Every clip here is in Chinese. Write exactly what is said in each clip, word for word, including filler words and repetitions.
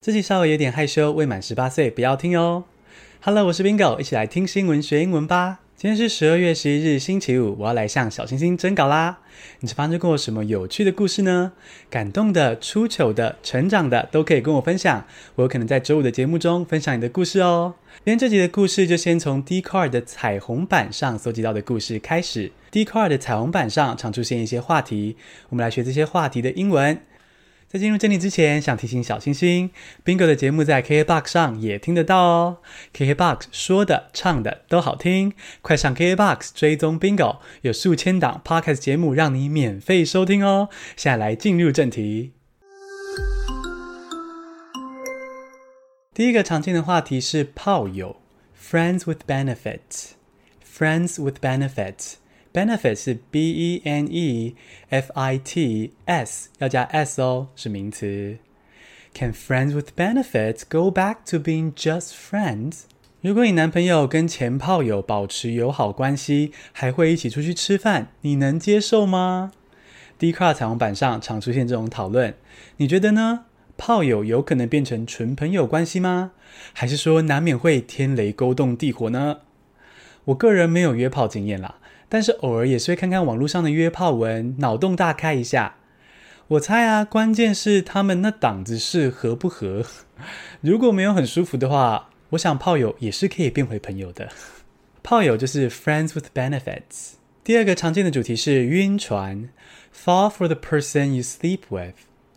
自己稍微有點害羞，未滿十八歲不要聽哦。Hello， 我是 Bingo， 一起來聽新聞學英文吧。今天是十二月十一日星期五，我要來向小星星徵稿啦。你是發生過什麼有趣的故事呢？感動的、出糗的、成長的都可以跟我分享，我有可能在周五的節目中分享你的故事哦。今天這集的故事就先從 Dcard 的彩虹版上蒐集到的故事開始。Dcard 的彩虹版上常出現一些話題，我們來學這些話題的英文。在進入正題之前，想提醒小星星 Bingo 的節目在 K K B O X 上也聽得到哦。K K B O X 說的唱的都好聽，快上 K K B O X 追蹤 Bingo， 有數千檔 Podcast 節目讓你免費收聽哦。現在來進入正題。第一個常見的話題是炮友 Friends with benefits Friends with benefits，Benefit 是 B E N E F I T S 要加 S 哦，是名詞。Can friends with benefits go back to being just friends? 如果你男朋友跟前炮友保持友好關係，還會一起出去吃飯，你能接受嗎？ Dcard 彩虹版上常出現這種討論，你覺得呢？炮友有可能變成純朋友關係嗎？還是說難免會天雷勾動地火呢？我個人沒有約炮經驗啦，但是偶爾也是會看看網絡上的約炮文，腦洞大開一下。我猜啊，關鍵是他們那檔子事合不合。如果沒有很舒服的話，我想炮友也是可以變回朋友的。炮友就是 friends with benefits。第二個常見的主題是暈船 Fall for the person you sleep with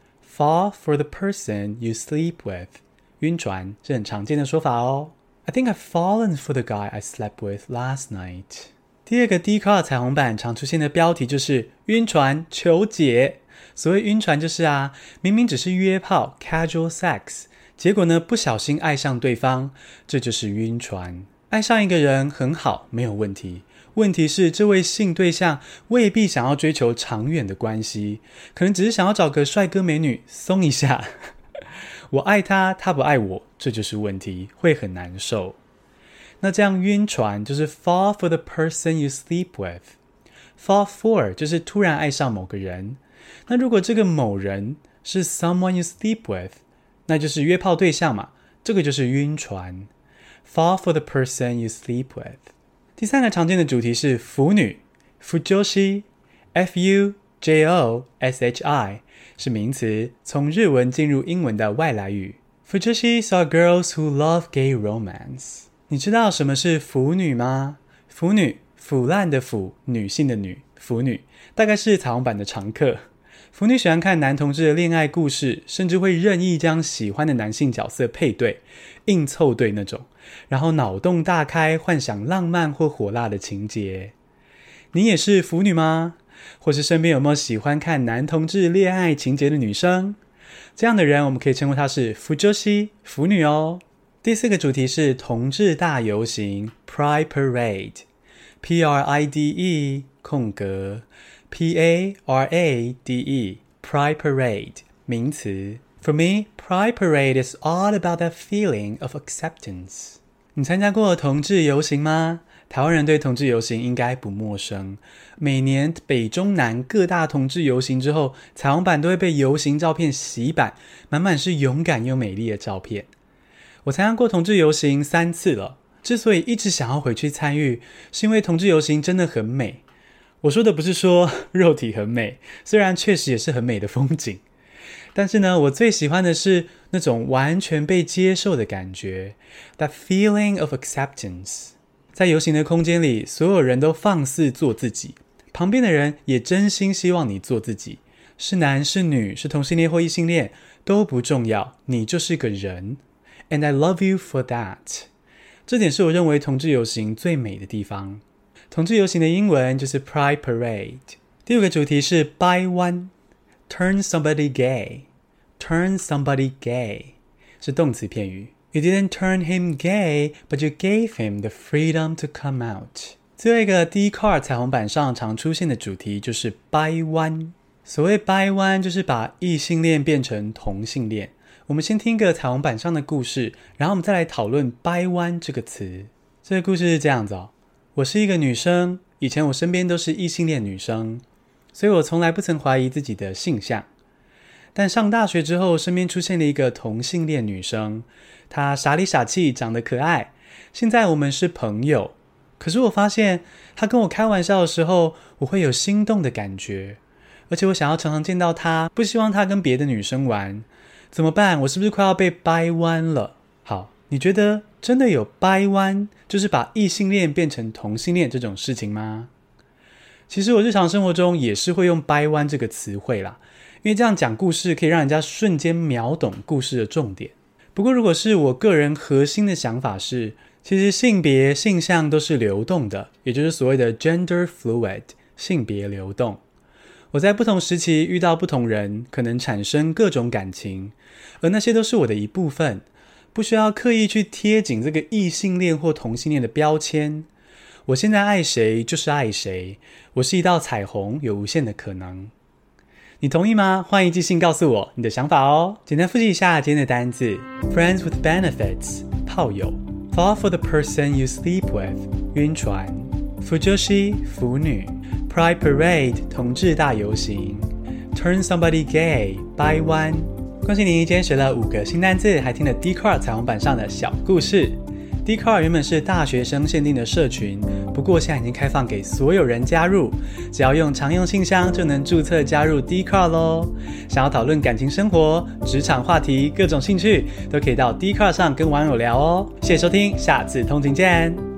Fall for the person you sleep with 暈船是很常見的說法哦。I think I've fallen for the guy I slept with last night。第二個 Dcard 彩虹版常出現的標題就是暈船求解。所謂暈船就是啊，明明只是約炮 casual sex， 結果呢不小心愛上對方，這就是暈船。愛上一個人很好，沒有問題。問題是這位性對象未必想要追求長遠的關係，可能只是想要找個帥哥美女鬆一下。我愛他，他不愛我，這就是問題，會很難受。那這樣暈船就是 fall for the person you sleep with。 Fall for 就是突然愛上某個人，那如果這個某人是 someone you sleep with， 那就是約炮對象嘛，這個就是暈船。Fall for the person you sleep with。 第三個常見的主題是腐女 Fujoshi F U J O S H I 是名詞，從日文進入英文的外來語。Fujoshi are girls who love gay romance。 你知道什麼是腐女嗎？腐女，腐爛的腐，女性的女，腐女大概是彩虹版的常客。腐女喜歡看男同志的戀愛故事，甚至會任意將喜歡的男性角色配對，硬湊對那種，然後腦洞大開，幻想浪漫或火辣的情節。你也是腐女嗎？或是身邊有沒有喜歡看男同志戀愛情節的女生？這樣的人我們可以稱呼她是腐女腐女哦。第四個主題是同志大遊行 Pride Parade P R I D E 空格 P A R A D E Pride Parade 名詞。 For me, Pride Parade is all about that feeling of acceptance。 你參加過同志遊行嗎？台灣人對同志遊行應該不陌生，每年北中南各大同志遊行之後，彩虹版都會被遊行照片洗版，滿滿是勇敢又美麗的照片。我參加過同志遊行三次了，之所以一直想要回去參與，是因為同志遊行真的很美。我說的不是說肉體很美，雖然確實也是很美的風景，但是呢，我最喜歡的是那種完全被接受的感覺 That feeling of acceptance。 在遊行的空間裡，所有人都放肆做自己，旁邊的人也真心希望你做自己，是男是女，是同性戀或異性戀都不重要，你就是個人。And I love you for that。 這點是我認為同志遊行最美的地方。同志遊行的英文就是 Pride Parade。 第五個主題是掰彎 Turn somebody gay Turn somebody gay 是動詞片語。 You didn't turn him gay, but you gave him the freedom to come out。 最後一個 Dcard 彩虹版上常出現的主題就是掰彎。所謂掰彎就是把異性戀變成同性戀。我們先聽個彩虹版上的故事，然後我們再來討論掰彎這個詞。這個故事是這樣子哦。我是一個女生，以前我身邊都是異性戀女生，所以我從來不曾懷疑自己的性向。 但上大學之後，身邊出現了一個同性戀女生，她傻裡傻氣，長得可愛。現在我們是朋友，可是我發現她跟我開玩笑的時候，我會有心動的感覺，而且我想要常常見到她，不希望她跟別的女生玩。怎麼辦？我是不是快要被掰彎了？好，你覺得真的有掰彎，就是把異性戀變成同性戀這種事情嗎？其實我日常生活中也是會用掰彎這個詞彙啦，因為這樣講故事可以讓人家瞬間秒懂故事的重點。不過如果是我個人核心的想法是，其實性別性向都是流動的，也就是所謂的 gender fluid， 性別流動。我在不同時期遇到不同人，可能產生各種感情，而那些都是我的一部分，不需要刻意去貼緊這個異性戀或同性戀的標籤。我現在愛誰就是愛誰，我是一道彩虹，有無限的可能。你同意嗎？歡迎寄信告訴我你的想法哦。簡單複習一下今天的單字 Friends with benefits 炮友 Fall for the person you sleep with 暈船 Fujoshi 腐女 Pride Parade 同志大遊行 Turn somebody gay 掰彎。恭喜你今天學了五個新單字，還聽了 Dcard 彩虹版上的小故事。Dcard 原本是大學生限定的社群，不過現在已經開放給所有人加入，只要用常用信箱就能註冊加入 Dcard 咯。想要討論感情生活、職場話題、各種興趣，都可以到 Dcard 上跟網友聊哦。謝謝收聽，下次通勤見。